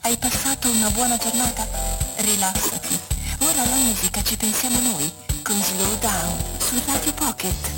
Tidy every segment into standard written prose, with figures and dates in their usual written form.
Hai passato una buona giornata? Rilassati. Ora alla musica ci pensiamo noi, con Slow Down, su Radio Pocket.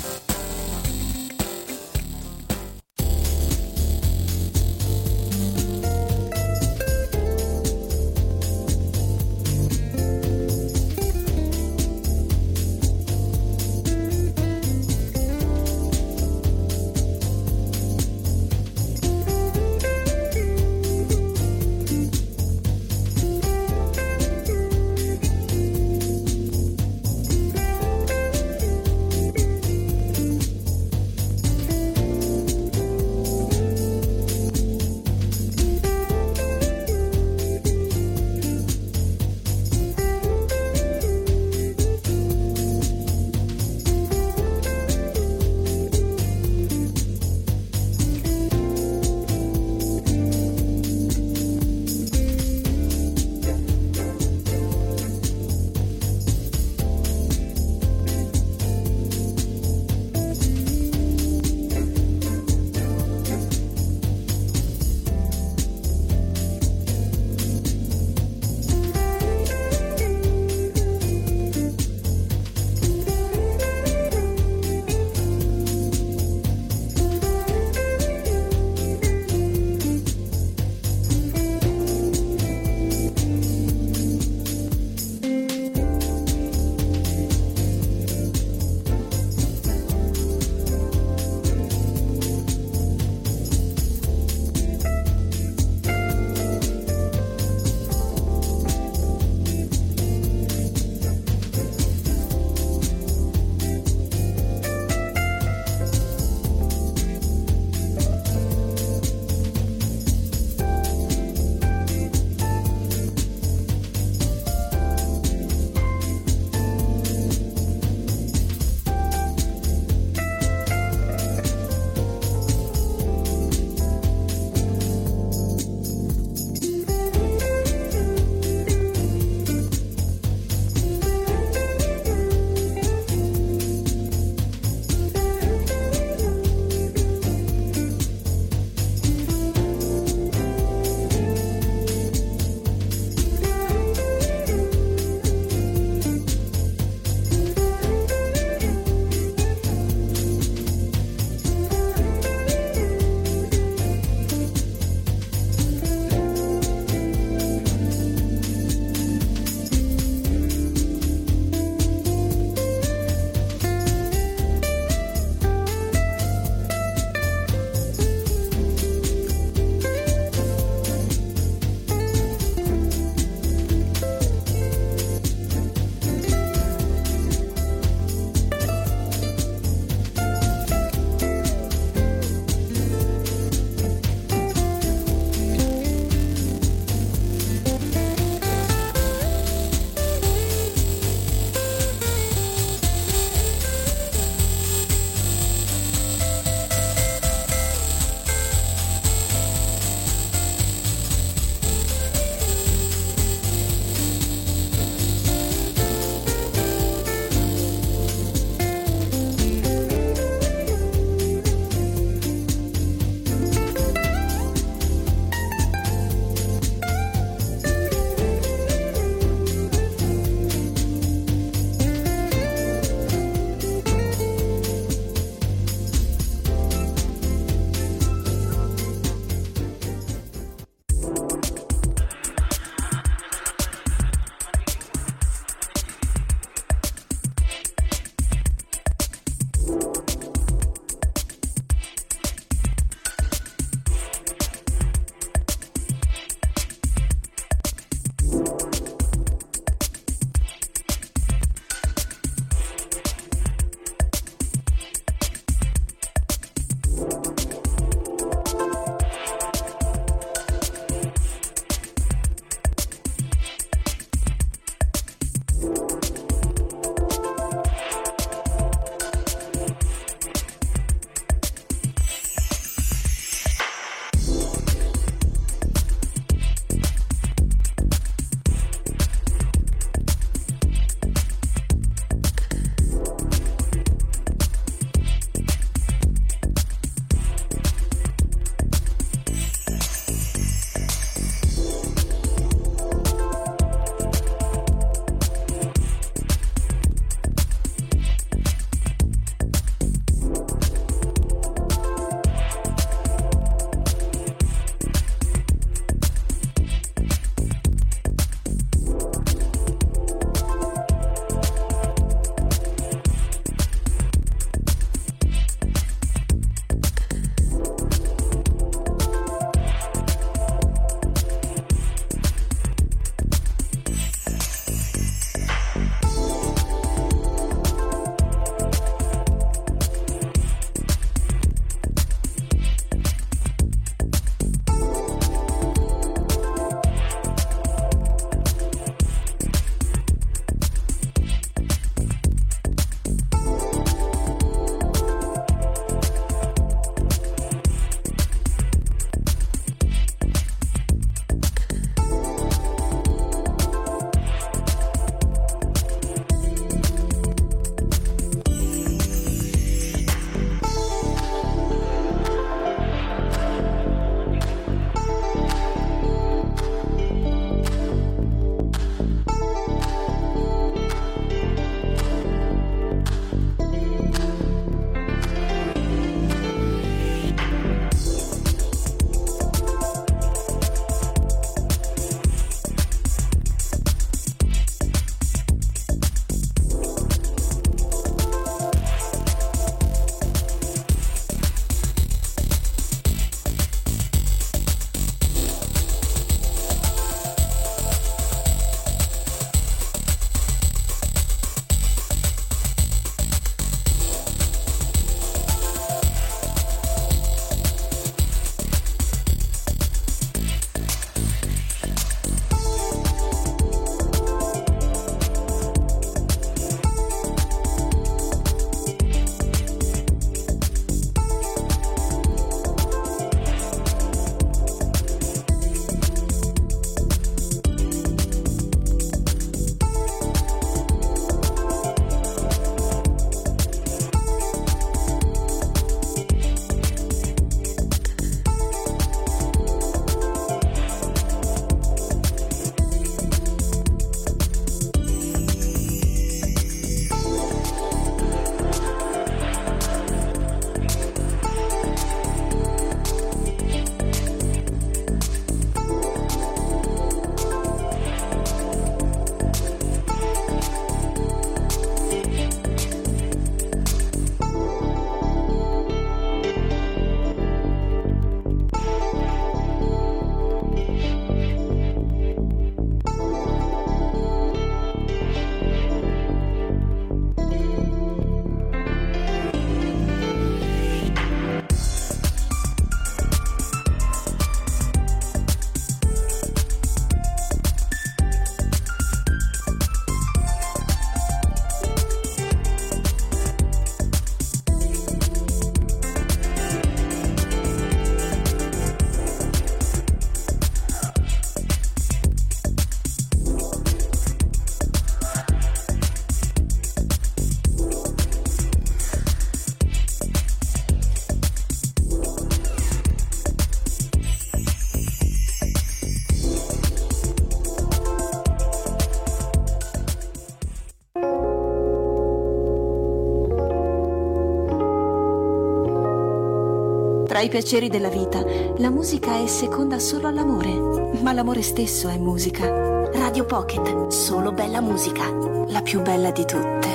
Tra i piaceri della vita, la musica è seconda solo all'amore, ma l'amore stesso è musica. Radio Pocket, solo bella musica, la più bella di tutte.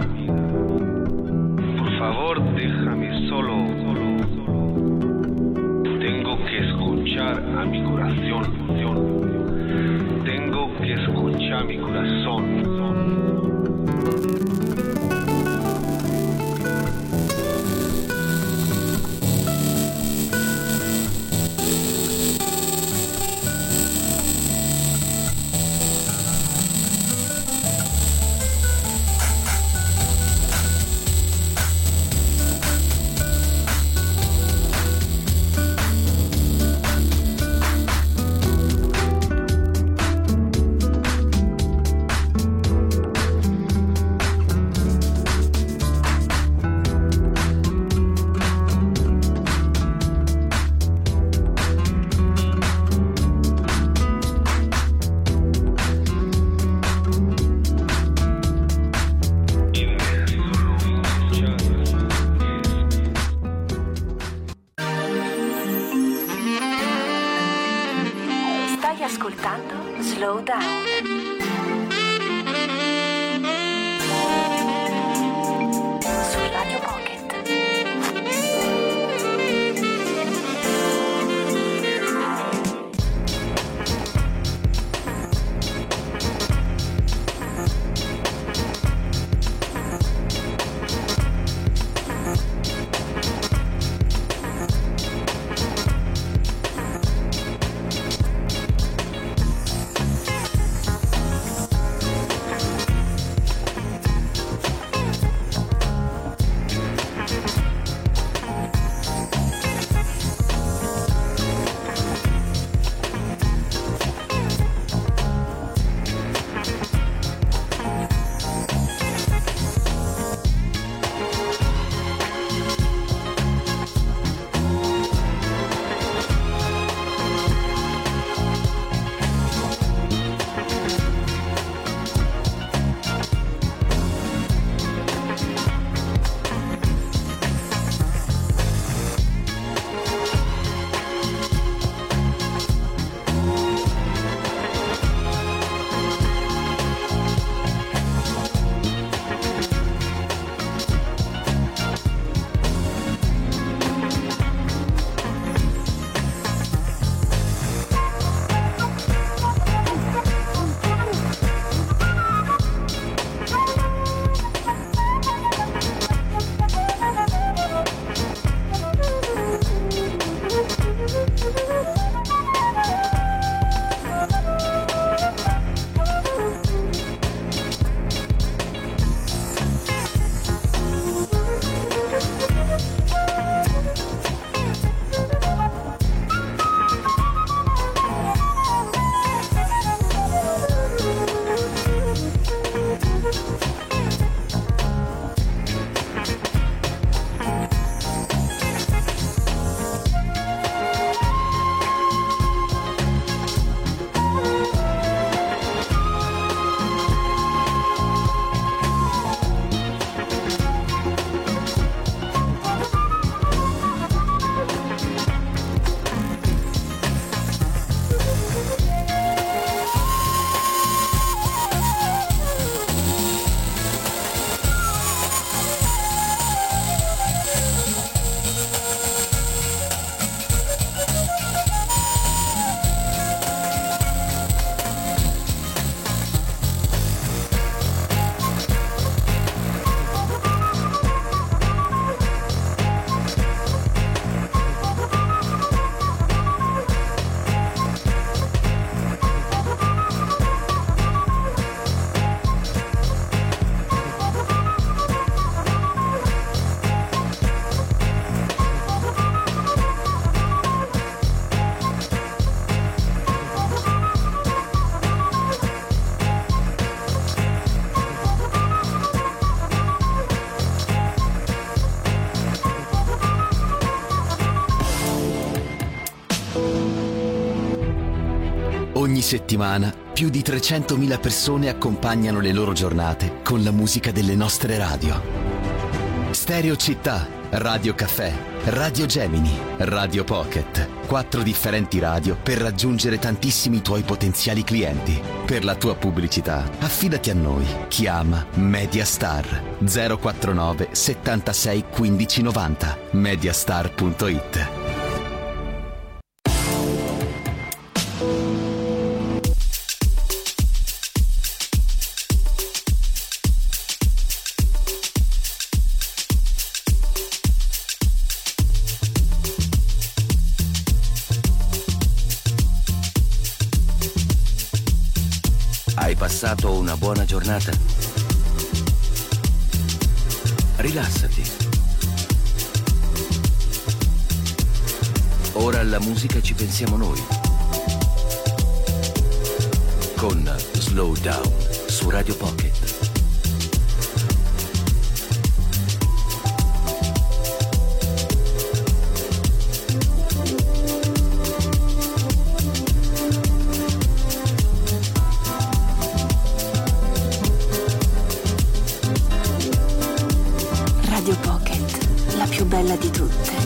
Por favor, déjame solo. Tengo que escuchar a mi corazón. Tengo que escuchar mi corazón. Ascoltando Slow Down su Radio Pocket. Ogni settimana più di 300.000 persone accompagnano le loro giornate con la musica delle nostre radio. Stereo Città, Radio Caffè, Radio Gemini, Radio Pocket. 4 differenti radio per raggiungere tantissimi tuoi potenziali clienti. Per la tua pubblicità, affidati a noi. Chiama Mediastar 049 76 15 90. Mediastar.it. Hai passato una buona giornata? Rilassati. Ora alla musica ci pensiamo noi. Con Slow Down su Radio Pocket. Radio Pocket, la più bella di tutte.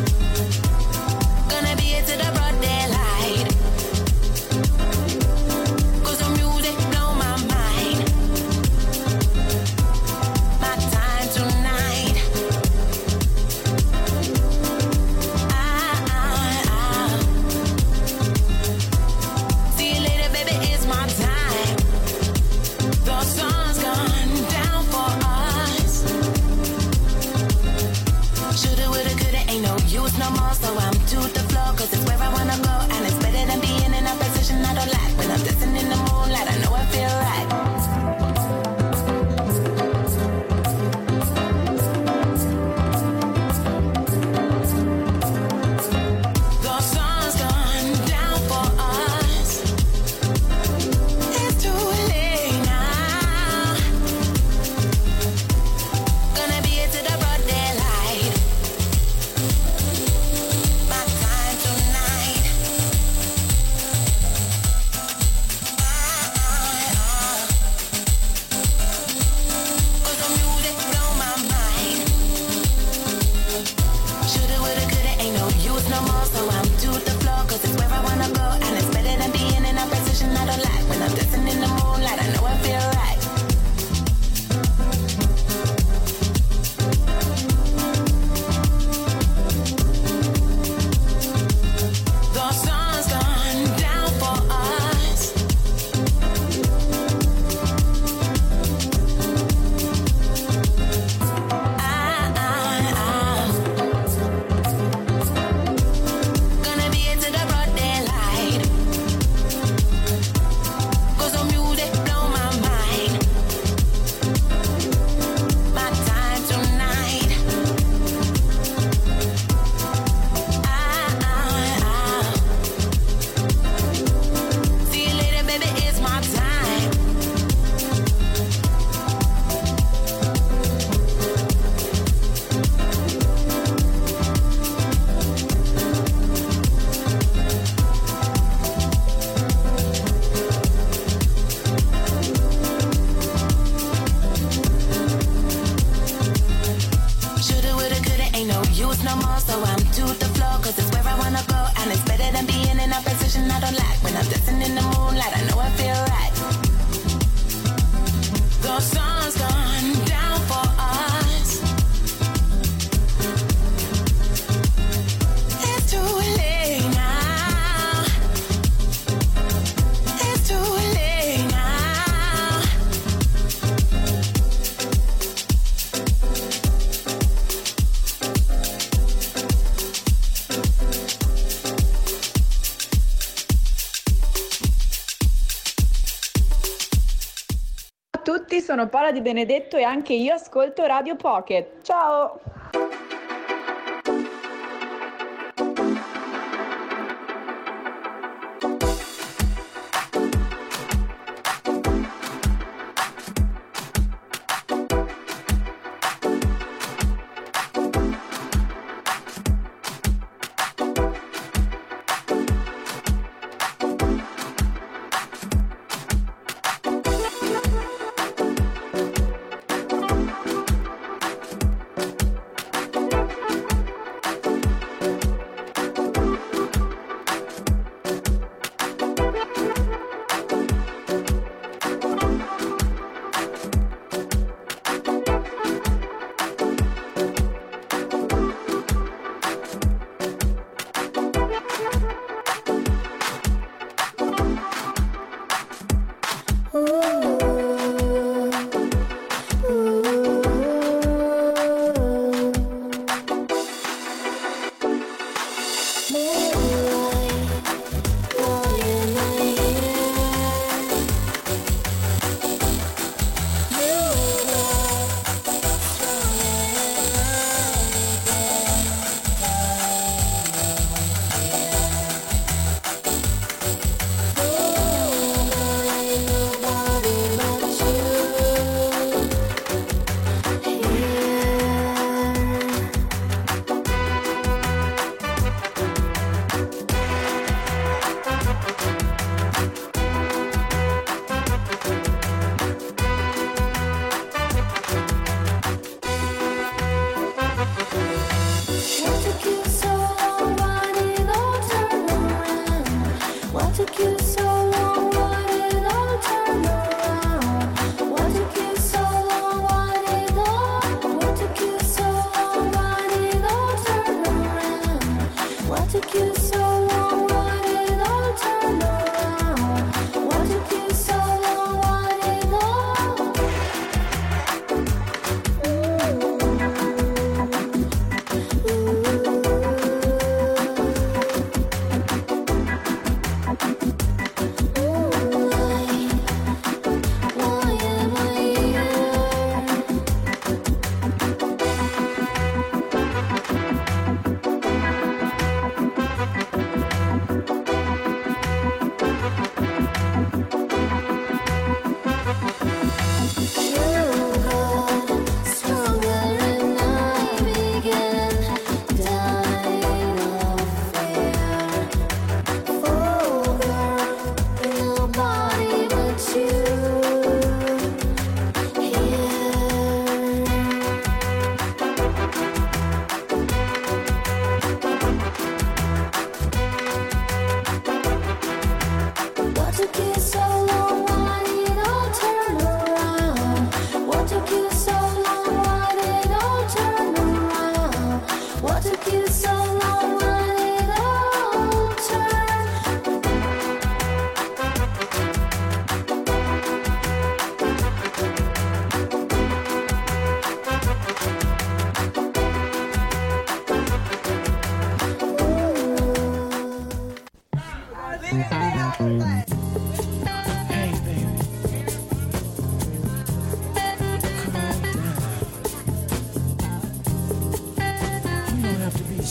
Sono Paola Di Benedetto e anche io ascolto Radio Pocket. Ciao!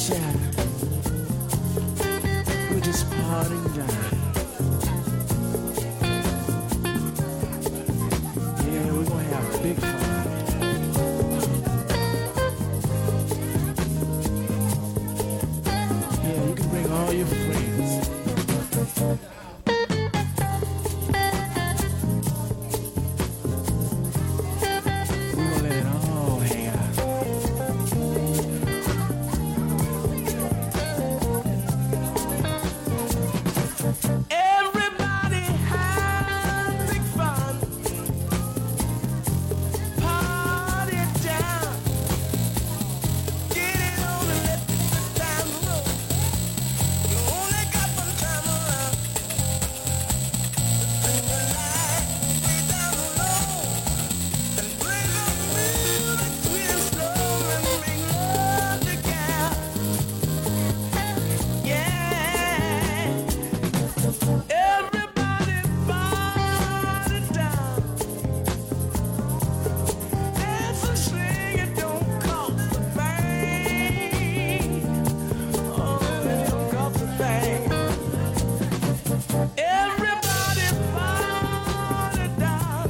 shine. We're just parting down. Yeah, we're gonna have big fun. Yeah, you can bring all your friends. We're gonna let it all hang out. Everybody have big fun. Party down. Get it on and let the good time roll. You only got one time around. Bring the light way down low. And bring the music sweet and slow. And bring love together. Yeah. Everybody party down. Dance and sing, it don't cost a thing. Oh, it don't cost a thing. Everybody party down.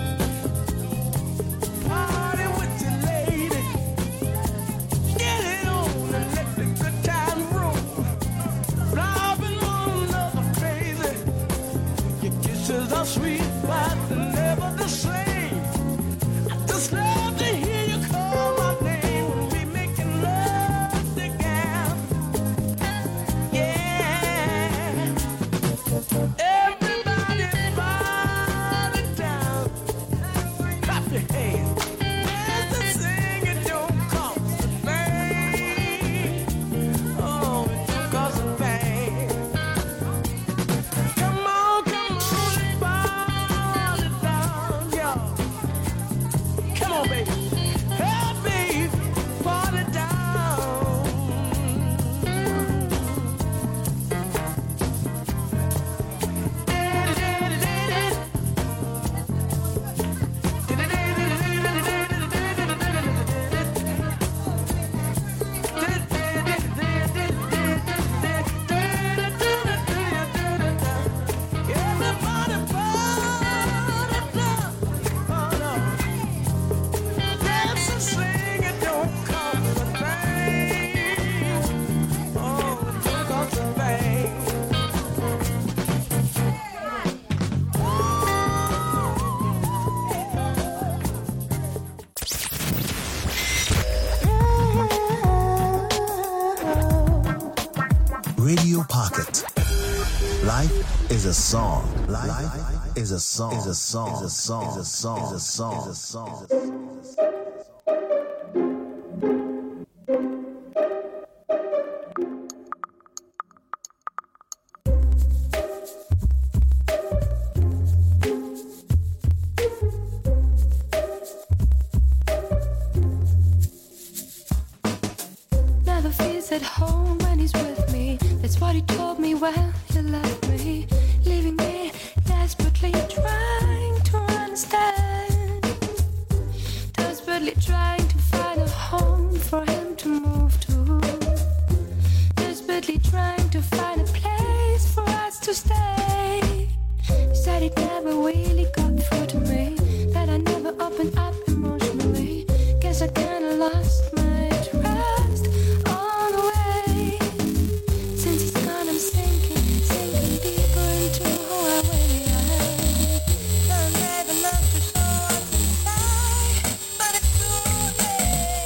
Party with your lady. Get it on and let the good time roll. Driving one another crazy. Your kisses are sweet, but never the same. I just love to hear you call my name when we making love together. Yeah. Everybody party down. Clap your hands. Dance and sing, it don't cost a thing. Oh, it don't cost a thing. Come on and party down, y'all. Come on, baby. Hey, baby, party down. Everybody party down. Oh, no. Dance and sing, it don't cost a thing. Oh, it don't cost a thing. Radio Pocket. Life is a song. Life is a song. Is a song. Is a song. Is a song. Is a song. Is a song. Never feels at home when he's with me. That's what he told me when he left me, leaving me desperately trying to understand, desperately trying to find a home for him to move to, desperately trying to find a place for us to stay. He said it never really got through to me, that I never opened up emotionally. Guess I kinda lost my trust on the way. Since he's gone, I'm sinking deeper into who I really am. Don't have enough to show what's inside, but it's too late.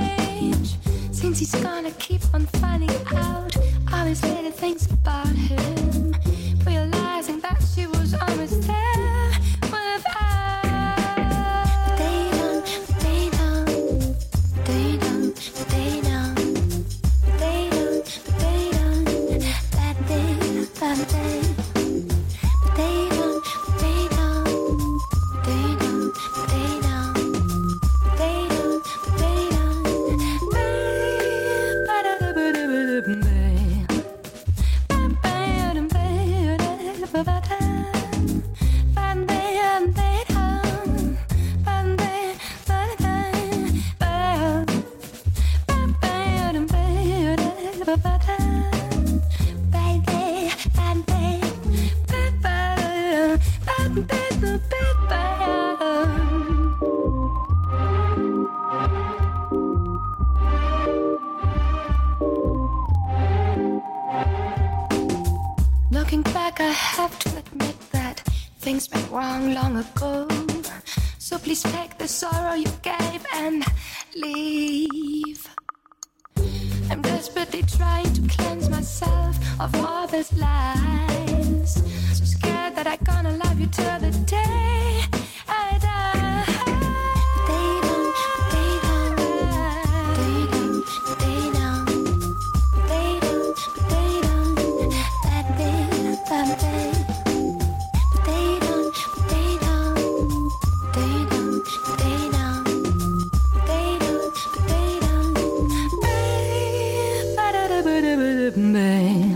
Since he's gonna keep on finding out all these little things about him. Looking back, I have to admit that things went wrong long ago. So please take the sorrow you gave and leave. I'm desperately trying to cleanse myself of all these lies. So scared that I'm gonna love you till the day I die. They don't, they don't, they don't, they don't, they don't, they don't, that they, that they, they don't, they don't, they don't, they don't, they don't, they don't, babe.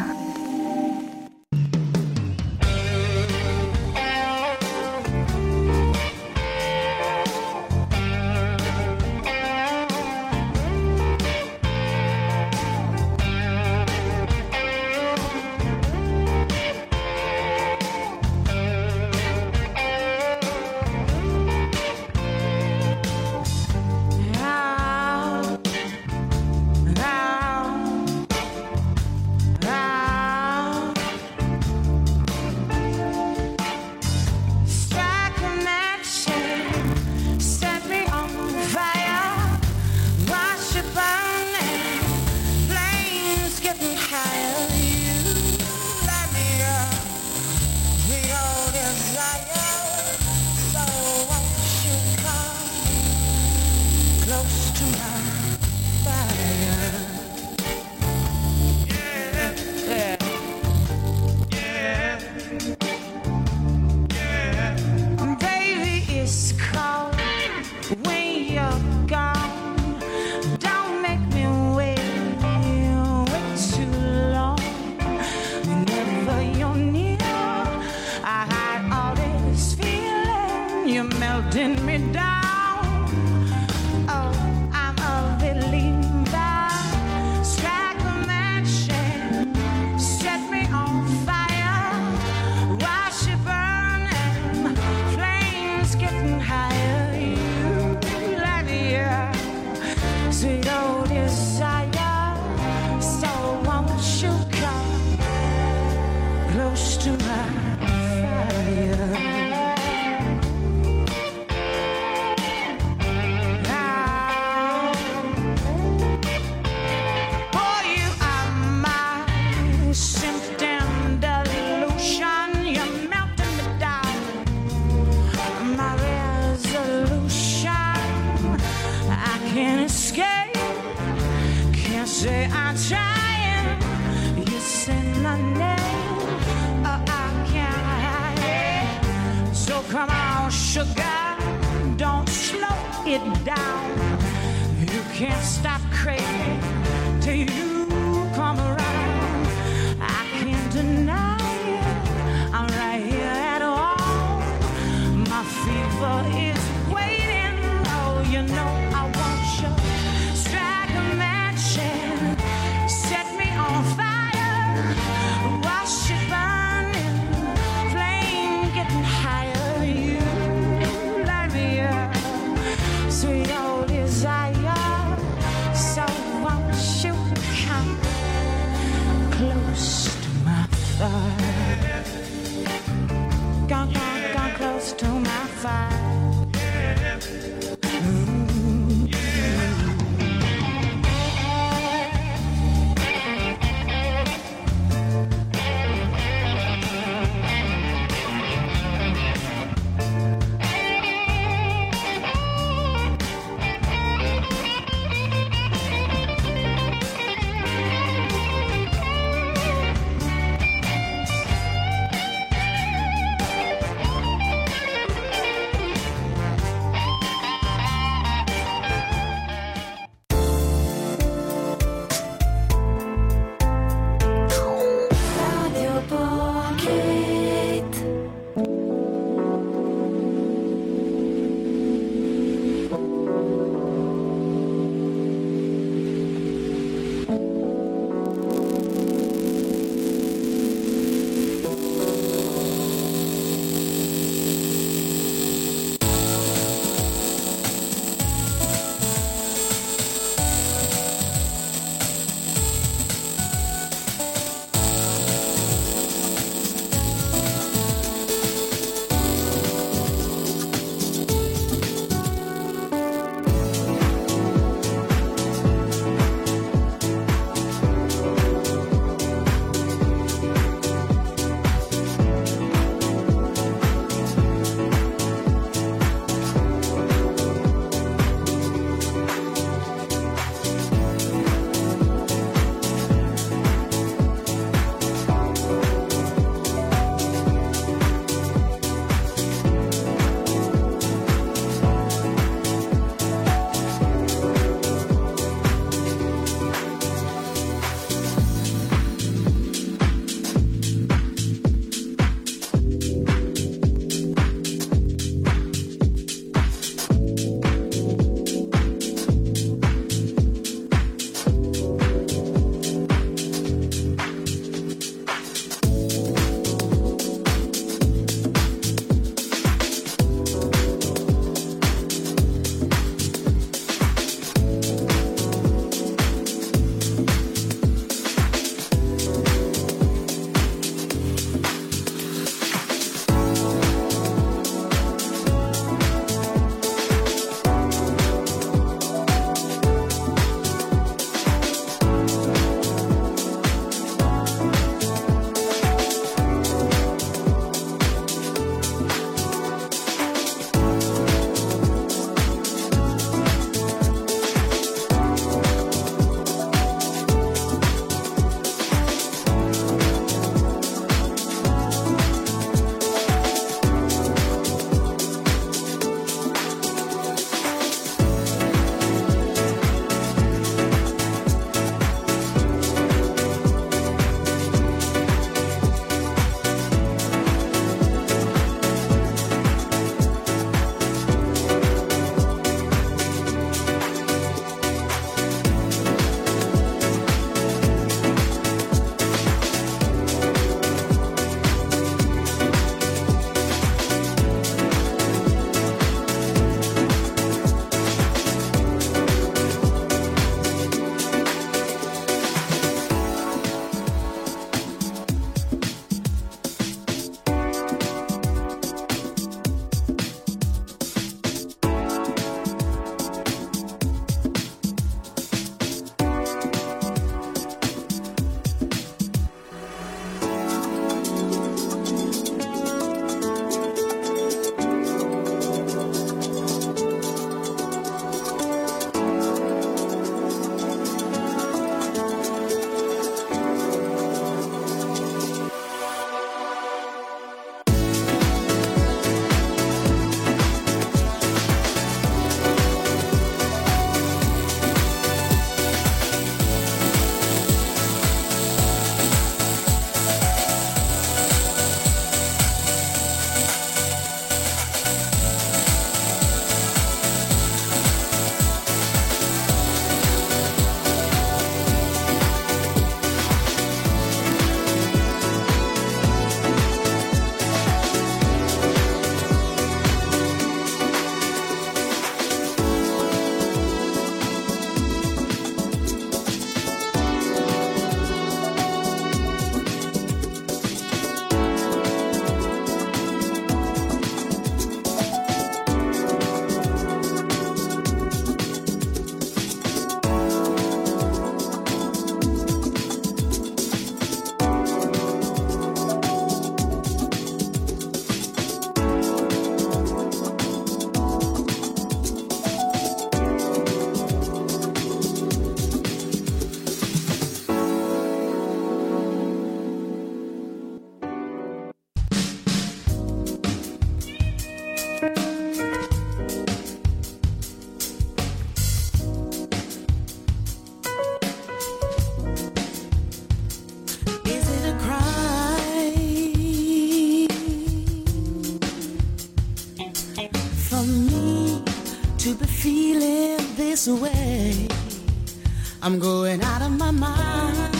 this way, I'm going out of my mind.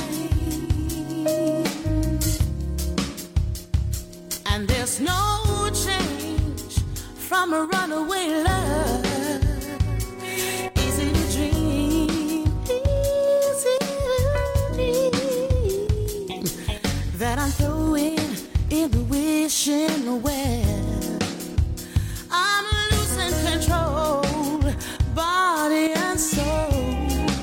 And there's no change from a runaway love. Easy to dream, easy to dream, that I'm throwing in the wishing well. I'm losing control, body and soul.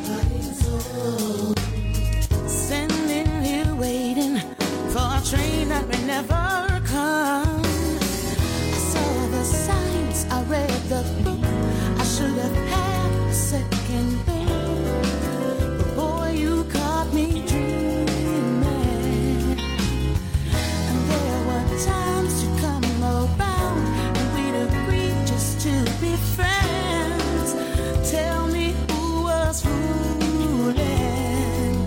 Sending here waiting for a train that may never come. I saw the signs, I read the book, I should have had a second look. But boy, you caught me dreaming. And there were times to come around and we'd agree just to be friends. Tell me who was fooling.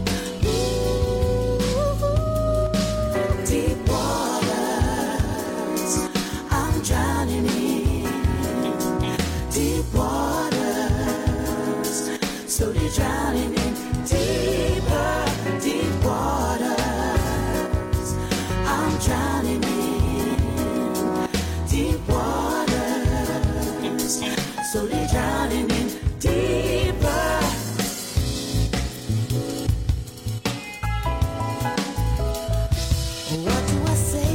Ooh, deep waters, I'm drowning in. Deep waters, slowly drowning in. Deeper, deep waters, I'm drowning in. Deep waters, slowly drowning in. Deeper. What do I say?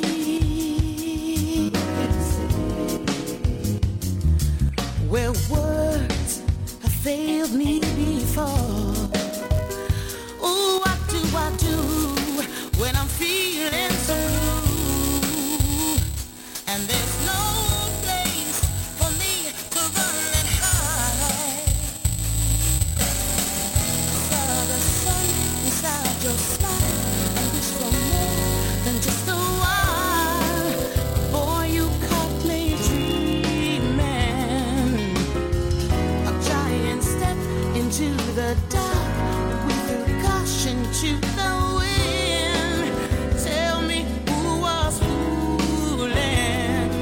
Where words have failed me before. Oh, what do I do when I'm feeling so blue? And there's no place for me to run and hide. Saw the sun inside your smile. I wish for more than just a while. Boy, you caught me dreaming. A giant step into the dark. We threw caution to the wind. Tell me who was fooling.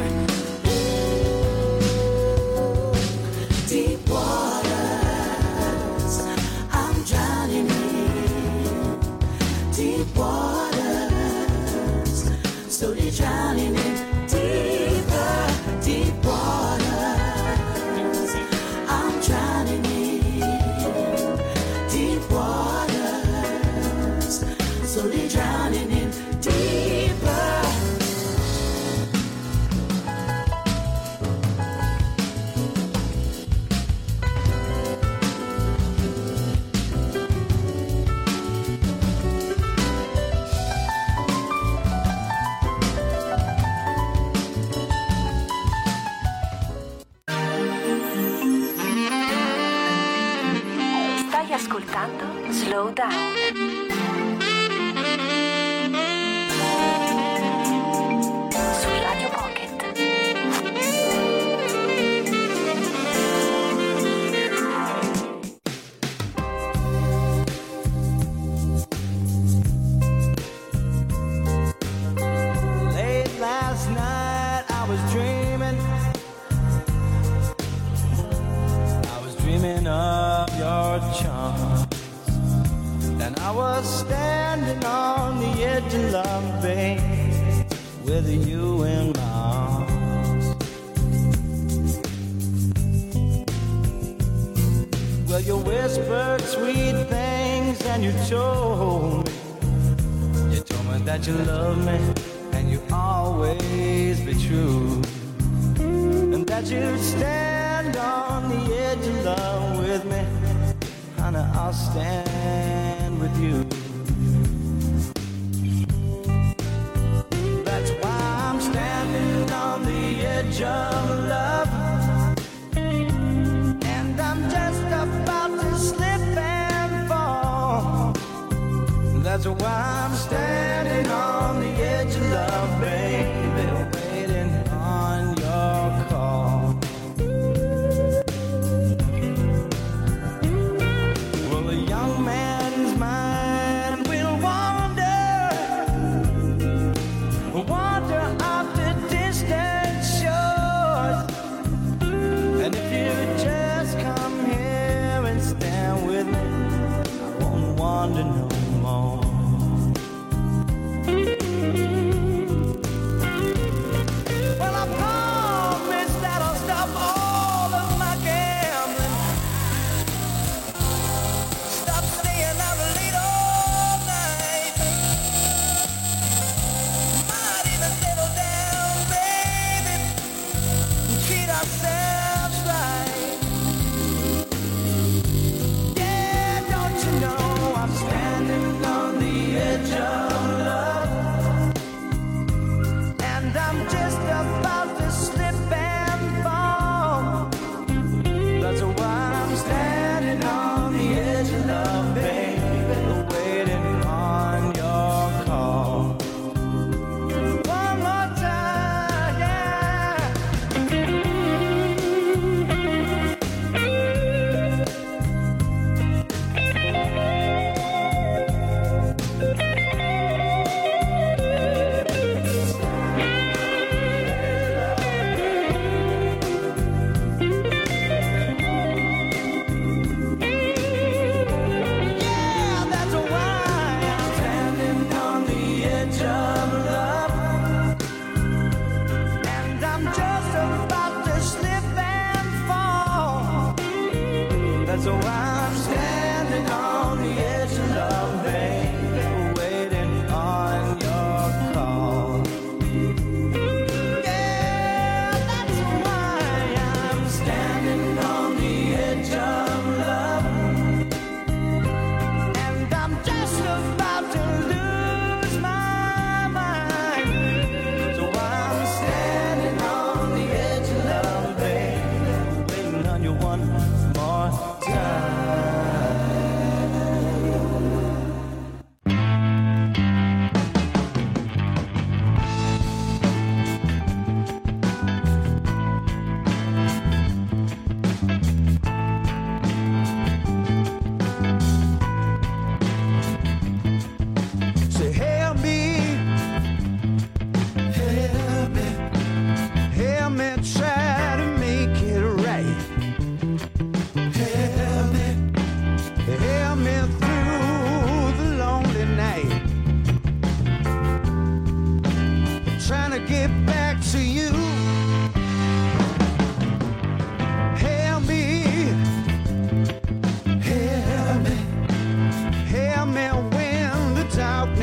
Ooh, deep waters, I'm drowning in. Deep waters, slowly drowning in. Deeper, deep waters, I'm drowning in. Deep waters, slowly drowning in. Deeper. Stai ascoltando Slow Down. Su Radio Pocket. Late last night I was dreaming. I was dreaming of your charms. And I was standing on the edge of love, babe, with you in my arms. Well, you whispered sweet things and you told me that you love me and you always be true, and that you'd stand on the edge of love with me. Honey, I'll stand with you. That's why I'm standing on the edge of love, and I'm just about to slip and fall. That's why I'm standing on the edge of love, baby, waiting on your call. Well, a young man's mind will wander off to distant shores. And if you just come here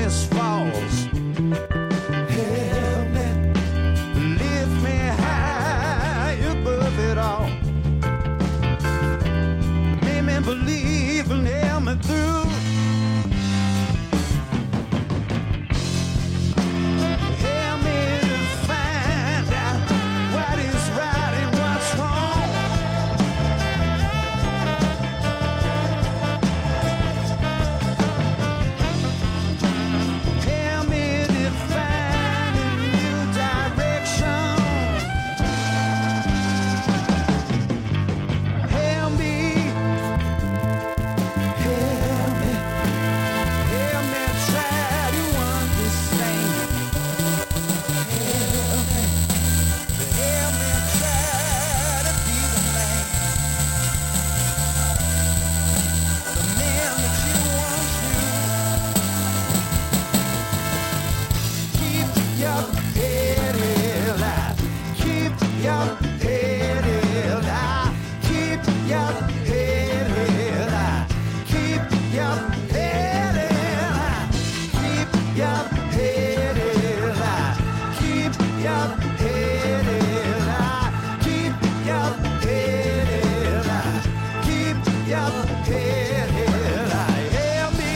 darkness falls. Help me, lift me high above it all. Make me believe and help me through. Help me to find out what is right and what's wrong. Help me to find a new direction. Help me, help me, help me try to understand. Help me try to be the man that you want to. Keep your head held high. Keep your head held high. Keep your head held high. Keep your head held high. Keep your head held high. Keep your head held high. Keep your head held high. Keep your head held high. Help me.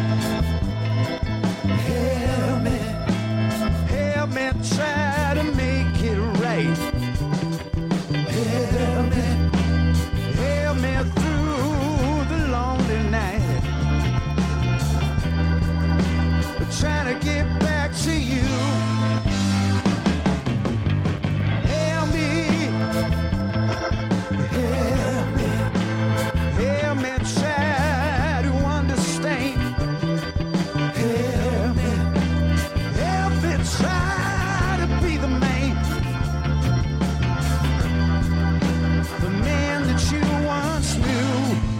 Help me. Help me try to make it right. Help me. Help me through the lonely night. Trying to get back to you. Help me. Help me. Help me try to understand. Help me. Help me try to be the man that you once knew.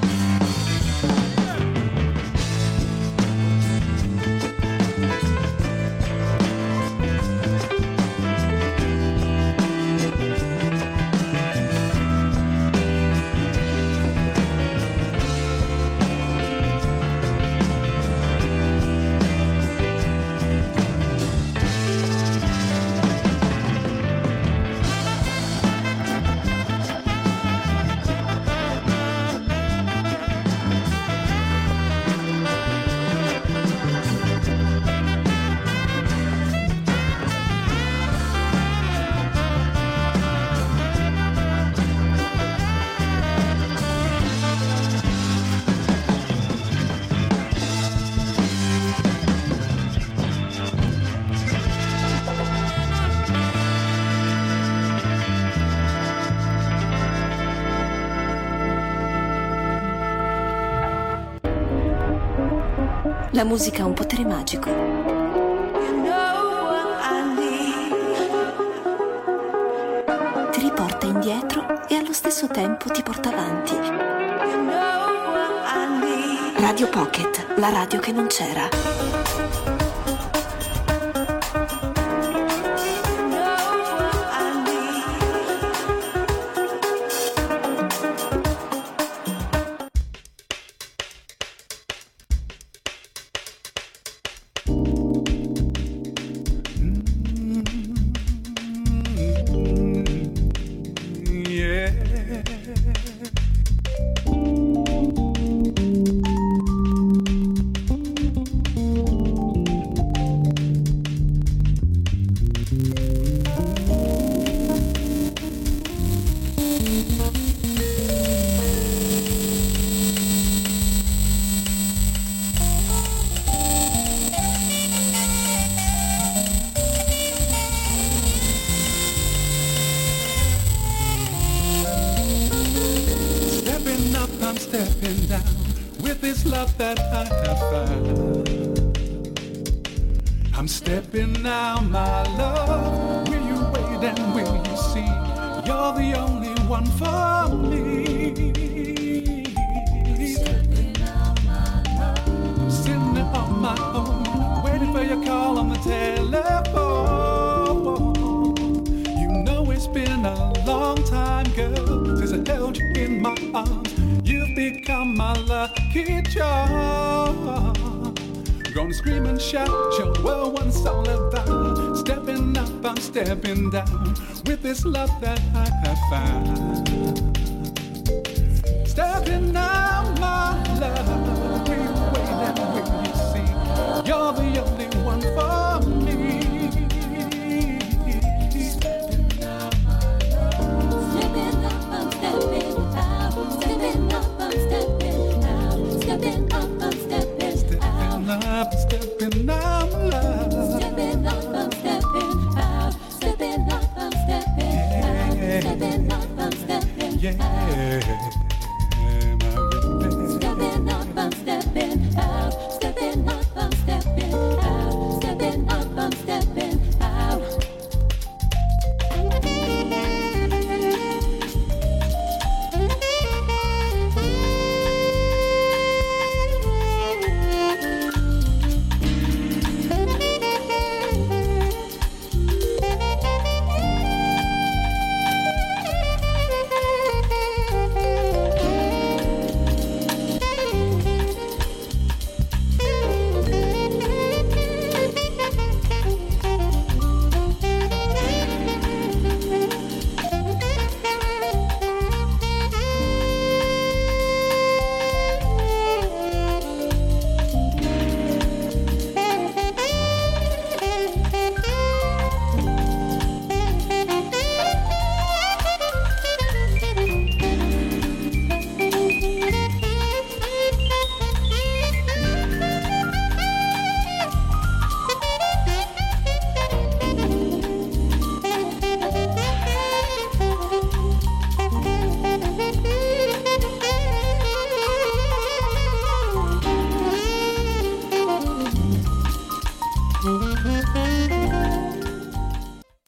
La musica ha un potere magico. Ti riporta indietro e allo stesso tempo ti porta avanti. Radio Pocket, la radio che non c'era. Stepping down with this love that I have found. I'm stepping now, my love. Will you wait and will you see? You're the only one for me. Stepping now, my love. I'm sitting on my own, waiting for your call on the telephone. You know it's been a long time, girl, since I held you in my arms. You've become my lucky charm. Gonna scream and shout, show the world what it's all about. Stepping up, I'm stepping down with this love that I have found. Stepping out, my love, will you wait and will you see? You're the only one for me. Stepping out, my love. Stepping up, I'm stepping out. Stepping up, I'm stepping out. Stepping up, I'm stepping out. Stepping out, love. Stepping up, I'm stepping out. Stepping up, I'm stepping out. Stepping up, I'm stepping out. Yeah, my baby. Stepping up, I'm stepping